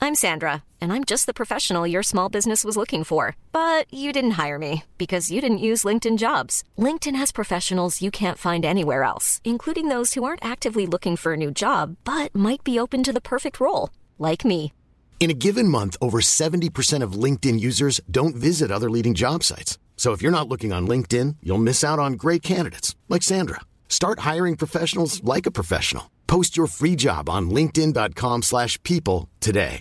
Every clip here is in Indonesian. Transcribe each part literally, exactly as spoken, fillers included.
I'm Sandra, and I'm just the professional your small business was looking for. But you didn't hire me because you didn't use LinkedIn Jobs. LinkedIn has professionals you can't find anywhere else, including those who aren't actively looking for a new job, but might be open to the perfect role, like me. In a given month, over seventy percent of LinkedIn users don't visit other leading job sites. So if you're not looking on LinkedIn, you'll miss out on great candidates, like Sandra. Start hiring professionals like a professional. Post your free job on linkedin.com slash people today.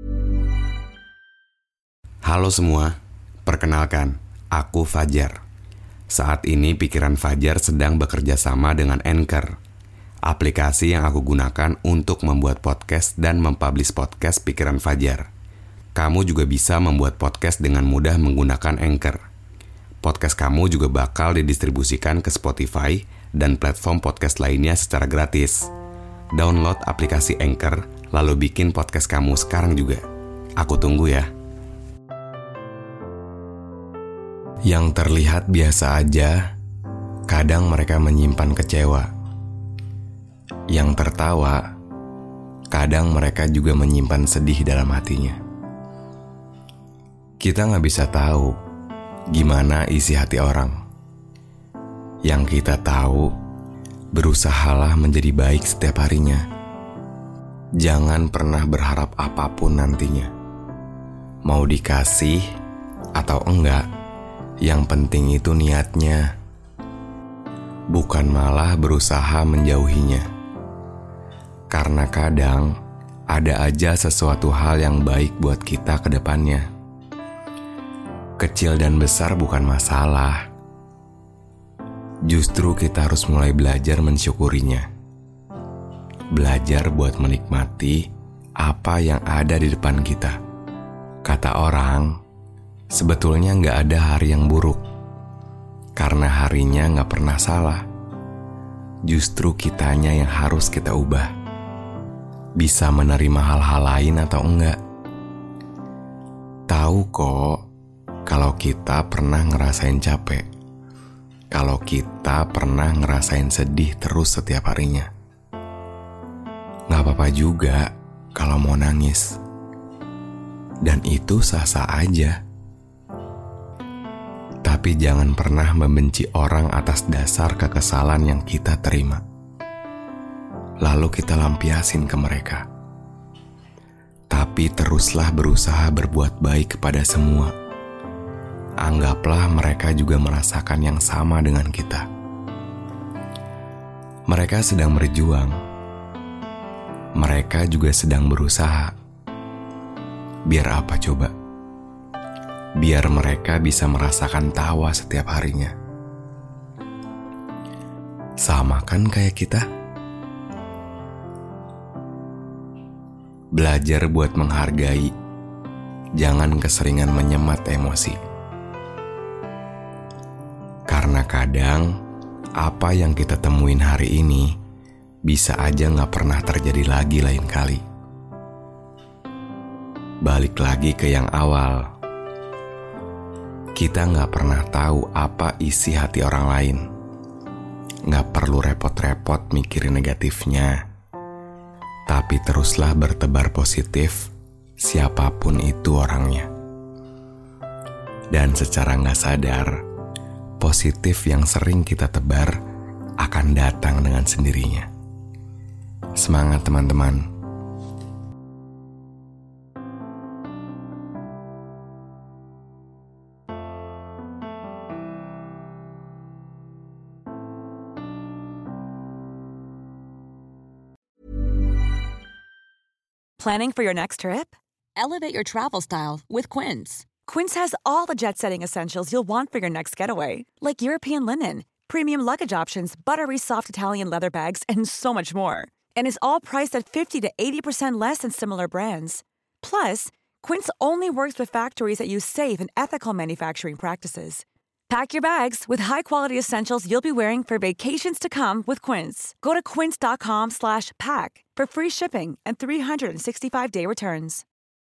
Halo semua, perkenalkan, aku Fajar. Saat ini pikiran Fajar sedang bekerja sama dengan Anchor, aplikasi yang aku gunakan untuk membuat podcast dan mempublish podcast pikiran Fajar. Kamu juga bisa membuat podcast dengan mudah menggunakan Anchor. Podcast kamu juga bakal didistribusikan ke Spotify dan platform podcast lainnya secara gratis. Download aplikasi Anchor, lalu bikin podcast kamu sekarang juga. Aku tunggu ya. Yang terlihat biasa aja, kadang mereka menyimpan kecewa. Yang tertawa, kadang mereka juga menyimpan sedih dalam hatinya. Kita gak bisa tahu gimana isi hati orang. Yang kita tahu, berusahalah menjadi baik setiap harinya. Jangan pernah berharap apapun nantinya. Mau dikasih atau enggak, yang penting itu niatnya, bukan malah berusaha menjauhinya. Karena kadang ada aja sesuatu hal yang baik buat kita ke depannya. Kecil dan besar bukan masalah. Justru kita harus mulai belajar mensyukurinya. Belajar buat menikmati apa yang ada di depan kita. Kata orang, sebetulnya gak ada hari yang buruk, karena harinya gak pernah salah. Justru kitanya yang harus kita ubah. Bisa menerima hal-hal lain atau enggak. Tahu kok, kalau kita pernah ngerasain capek. Kalau kita pernah ngerasain sedih terus setiap harinya. Gak apa-apa juga kalau mau nangis. Dan itu sah-sah aja. Tapi jangan pernah membenci orang atas dasar kekesalan yang kita terima. Lalu kita lampiasin ke mereka. Tapi teruslah berusaha berbuat baik kepada semua. Anggaplah mereka juga merasakan yang sama dengan kita. Mereka sedang berjuang. Mereka juga sedang berusaha. Biar apa coba? Biar mereka bisa merasakan tawa setiap harinya. Sama kan kayak kita? Belajar buat menghargai. Jangan keseringan menyemat emosi. Karena kadang, apa yang kita temuin hari ini bisa aja gak pernah terjadi lagi lain kali. Balik lagi ke yang awal. Kita gak pernah tahu apa isi hati orang lain. Gak perlu repot-repot mikirin negatifnya. Tapi teruslah bertebar positif, siapapun itu orangnya. Dan secara gak sadar, positif yang sering kita tebar akan datang dengan sendirinya. Semangat teman-teman. Planning for your next trip? Elevate your travel style with Quince. Quince has all the jet-setting essentials you'll want for your next getaway, like European linen, premium luggage options, buttery soft Italian leather bags, and so much more. And is all priced at fifty to eighty percent less than similar brands. Plus, Quince only works with factories that use safe and ethical manufacturing practices. Pack your bags with high-quality essentials you'll be wearing for vacations to come with Quince. Go to quince.com slash pack for free shipping and three sixty-five day returns.